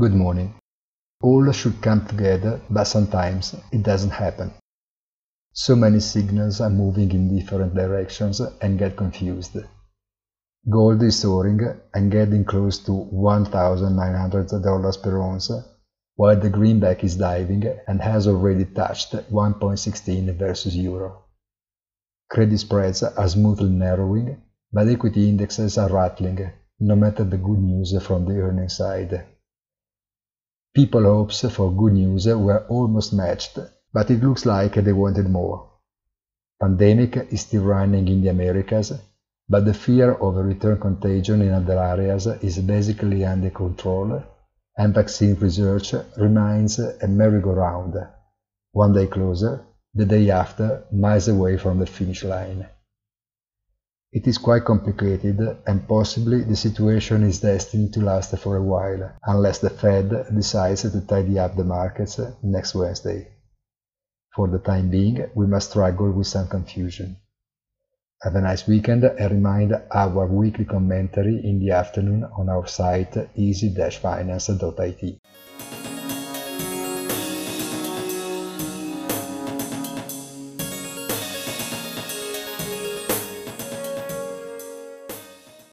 Good morning. All should come together, but sometimes it doesn't happen. So many signals are moving in different directions and get confused. Gold is soaring and getting close to $1,900 per ounce, while the greenback is diving and has already touched 1.16 versus euro. Credit spreads are smoothly narrowing, but equity indexes are rattling, no matter the good news from the earnings side. People's hopes for good news were almost matched, but it looks like they wanted more. Pandemic is still running in the Americas, but the fear of a return contagion in other areas is basically under control, and vaccine research remains a merry-go-round, one day closer, the day after, miles away from the finish line. It is quite complicated, and possibly the situation is destined to last for a while, unless the Fed decides to tidy up the markets next Wednesday. For the time being, we must struggle with some confusion. Have a nice weekend, and remind our weekly commentary in the afternoon on our site easy-finance.it.